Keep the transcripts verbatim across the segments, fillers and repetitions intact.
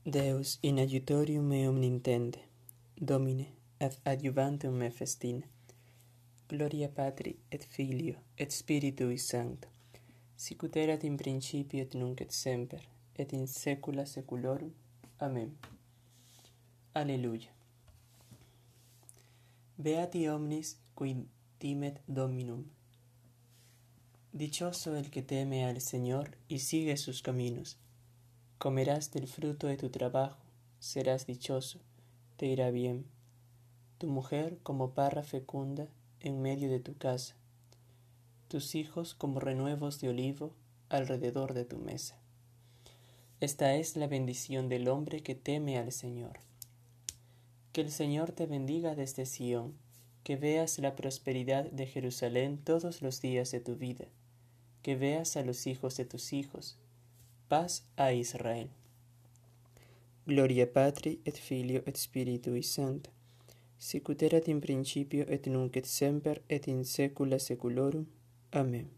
Deus in aiutorium meum nintende, Domine, ad adjuvantum me festina. Gloria Patri et Filio et Spiritui Sancto, sic ut erat in principio et nunc et semper, et in saecula saeculorum. Amen. Alleluia. Beati omnis qui timet Dominum. Dichoso el que teme al Señor y sigue sus caminos. Comerás del fruto de tu trabajo, serás dichoso, te irá bien. Tu mujer como parra fecunda en medio de tu casa, tus hijos como renuevos de olivo alrededor de tu mesa. Esta es la bendición del hombre que teme al Señor. Que el Señor te bendiga desde Sión, que veas la prosperidad de Jerusalén todos los días de tu vida, que veas a los hijos de tus hijos. Paz a Israel. Gloria Patri et Filio et Spiritui Sancto, sic ut erat in principio et nunc et semper et in saecula saeculorum. Amen.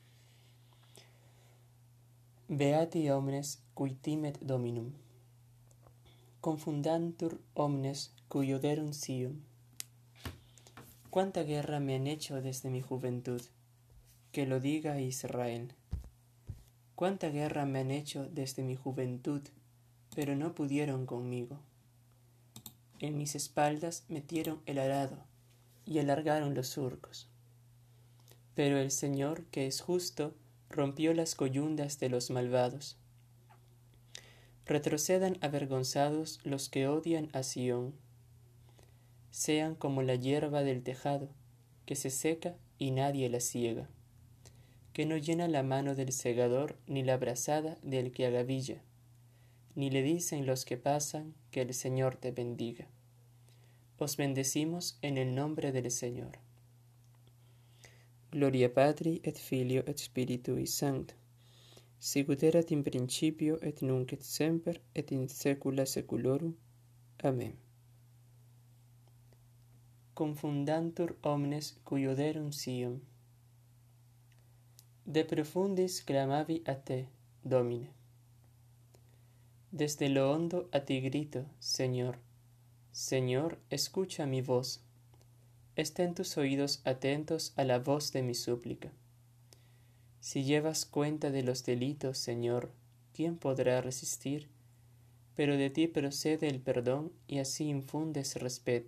Beati omnes qui timet Dominum. Confundantur omnes cui oderunt Sion. Cuánta guerra me han hecho desde mi juventud, que lo diga Israel. Cuánta guerra me han hecho desde mi juventud, pero no pudieron conmigo. En mis espaldas metieron el arado y alargaron los surcos. Pero el Señor, que es justo, rompió las coyundas de los malvados. Retrocedan avergonzados los que odian a Sión. Sean como la hierba del tejado, que se seca y nadie la siega, que no llena la mano del segador ni la brazada del que agavilla, ni le dicen los que pasan que el Señor te bendiga. Os bendecimos en el nombre del Señor. Gloria Patri et Filio et Spiritui Sancto, sic ut erat in principio et nunc et semper et in saecula saeculorum. Amen. Confundantur omnes cui oderunt Sion. De profundis clamavi a te, Domine. Desde lo hondo a ti grito, Señor. Señor, escucha mi voz. Estén tus oídos atentos a la voz de mi súplica. Si llevas cuenta de los delitos, Señor, ¿quién podrá resistir? Pero de ti procede el perdón y así infundes respeto.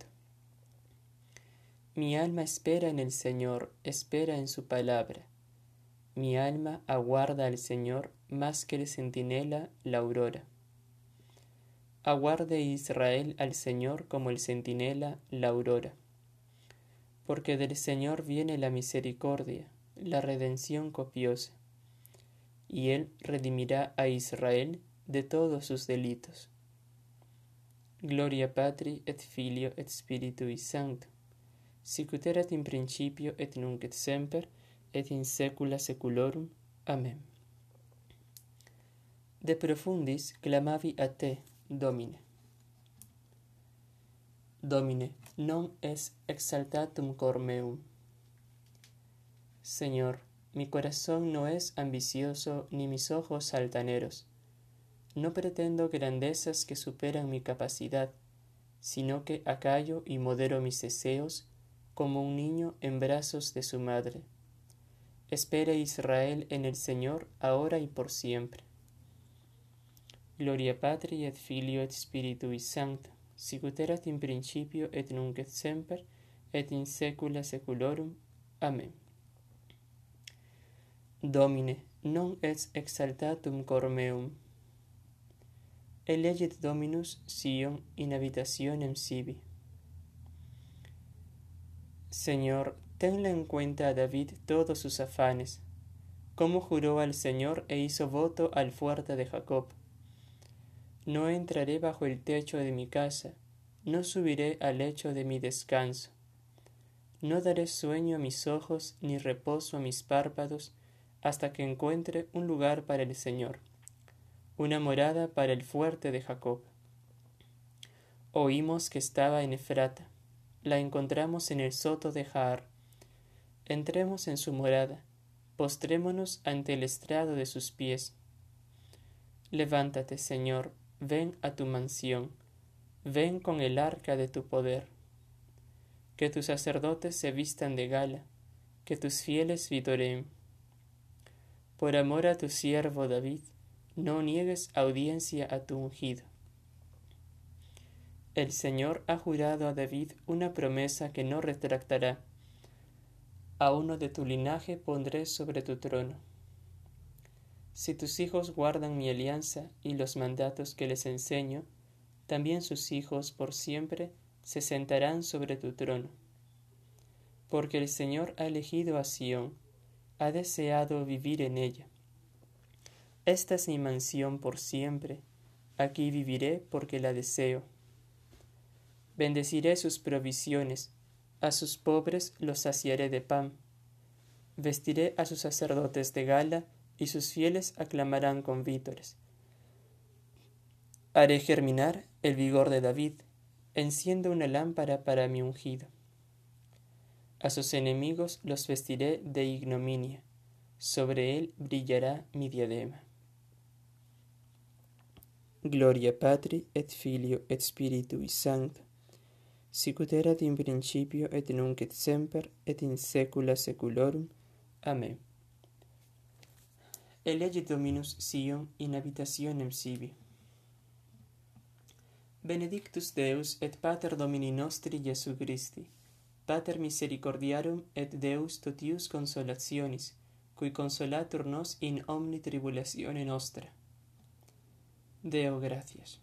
Mi alma espera en el Señor, espera en su palabra. Mi alma aguarda al Señor más que el centinela la aurora. Aguarde Israel al Señor como el centinela la aurora. Porque del Señor viene la misericordia, la redención copiosa, y Él redimirá a Israel de todos sus delitos. Gloria Patri et Filio et Spiritui Sancto, sic ut erat in principio et nunc et semper et in saecula saeculorum. Amen. De profundis clamavi a te, Domine. Domine, non es exaltatum cor meum. Señor, mi corazón no es ambicioso ni mis ojos altaneros. No pretendo grandezas que superan mi capacidad, sino que acallo y modero mis deseos como un niño en brazos de su madre. Espera Israel en el Señor ahora y por siempre. Gloria Patri et Filio et Spiritui Sancto, sic ut erat in principio et nunc et semper et in saecula saeculorum. Amen. Domine, non es exaltatum cor meum. Elegit Dominus Sion in habitationem sibi. Señor, tenle en cuenta a David todos sus afanes, como juró al Señor e hizo voto al fuerte de Jacob. No entraré bajo el techo de mi casa, no subiré al lecho de mi descanso. No daré sueño a mis ojos ni reposo a mis párpados hasta que encuentre un lugar para el Señor, una morada para el fuerte de Jacob. Oímos que estaba en Efrata, la encontramos en el soto de Jaar. Entremos en su morada, postrémonos ante el estrado de sus pies. Levántate, Señor, ven a tu mansión, ven con el arca de tu poder. Que tus sacerdotes se vistan de gala, que tus fieles vitoreen. Por amor a tu siervo David, no niegues audiencia a tu ungido. El Señor ha jurado a David una promesa que no retractará. A uno de tu linaje pondré sobre tu trono. Si tus hijos guardan mi alianza y los mandatos que les enseño, también sus hijos por siempre se sentarán sobre tu trono. Porque el Señor ha elegido a Sión, ha deseado vivir en ella. Esta es mi mansión por siempre, aquí viviré porque la deseo. Bendeciré sus provisiones, a sus pobres los saciaré de pan. Vestiré a sus sacerdotes de gala, y sus fieles aclamarán con vítores. Haré germinar el vigor de David, enciendo una lámpara para mi ungido. A sus enemigos los vestiré de ignominia, sobre él brillará mi diadema. Gloria Patri et Filio et Spiritui Sancto, sicut erat in principio et nunc et semper et in saecula saeculorum. Amen. Elegit Dominus Sion in habitationem sibi. Benedictus Deus et Pater Domini nostri Iesu Christi, Pater misericordiarum et Deus totius consolationis, cui consolatur nos in omni tribulatione nostra. Deo gratias.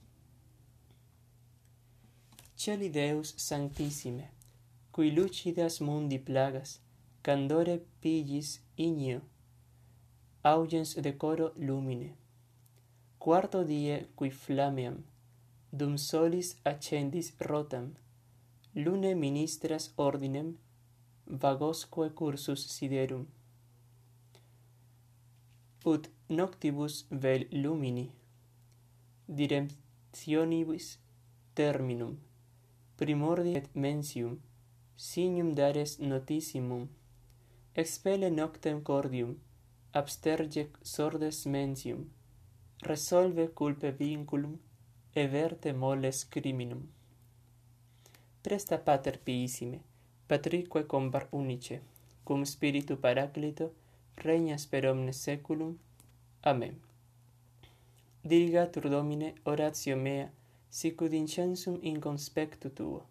Celi Deus sanctissime, cui lucidas mundi plagas, candore pillis igneo, augens decoro lumine. Quarto die qui flammeam, dum solis accendis rotam, lune ministras ordinem, vagosque cursus siderum. Ut noctibus vel lumini, diremptionibus terminum, primordi et mensium, signum dares notissimum, expele noctem cordium, absterge sordes mensium, resolve culpe vinculum, everte moles criminum. Presta Pater piissime, Patrique compar unice, cum Spiritu Paraclito, regnas per omnes saeculum. Amen. Dirigatur Domine oratio mea, sicut incensum in conspectu tuo.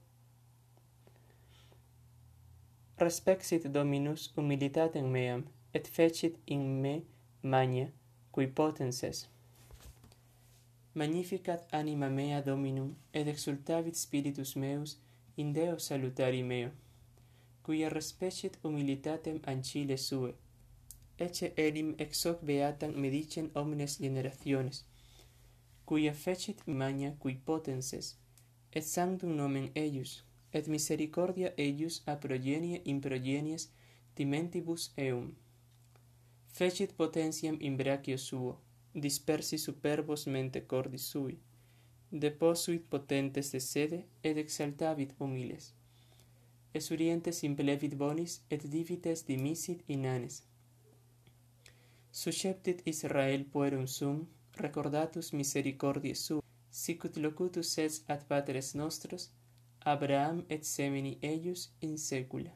Respexit Dominus humilitatem meam, et fecit in me magna, qui potens es. Magnificat anima mea Dominum, et exultavit spiritus meus in Deo salutari meo, quia respecit humilitatem ancile sue, ecce enim ex hoc beatam me dicen omnes generationes, quia fecit magna qui potens es, et sanctum nomen eius, et misericordia eius a progenie in progenies timentibus eum. Fecit potentiam in brachio suo, dispersi superbos mente cordis sui, deposuit potentes de sede, et exaltavit humiles. Esurientes implevit bonis, et divites dimisit inanes. Susceptit Israel puerum sum, recordatus misericordiae suae, sicut locutus es ad patres nostros, Abraham et semini eius in saecula.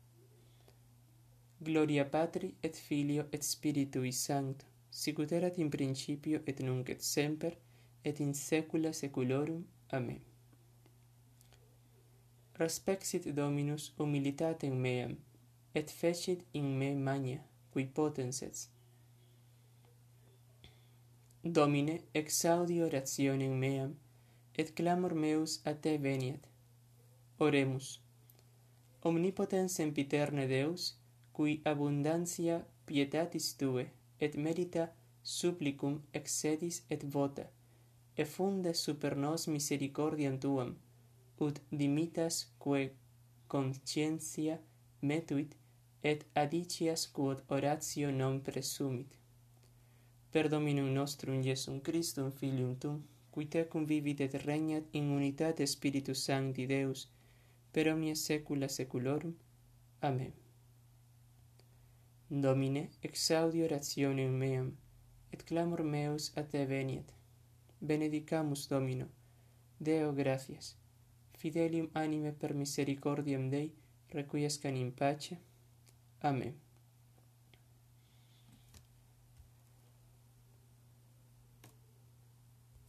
Gloria Patri et Filio et Spiritui Sancto, sicut erat in principio et nunc et semper, et in saecula saeculorum. Amen. Respexit Dominus humilitatem meam, et fecit in me magna, qui potens es. Domine, exaudi orationem meam, et clamor meus a te veniat. Oremus. Omnipotens sempiterne Deus, cui abundantia pietatis tue, et merita supplicum excedis et vota, effunde super nos misericordiam tuam, ut dimitas quae conscientia metuit, et adicias quod oratio non presumit. Per Dominum nostrum Iesum Christum Filium tuum, qui tecum vivit et regnat in unitate Spiritus Sancti Deus, per omnia saecula saeculorum. Amen. Domine, exaudi orationem meam, et clamor meus a te veniat. benedicamus Domino, Deo gratias, fidelium anime per misericordiam Dei, requiescant in pace. Amen.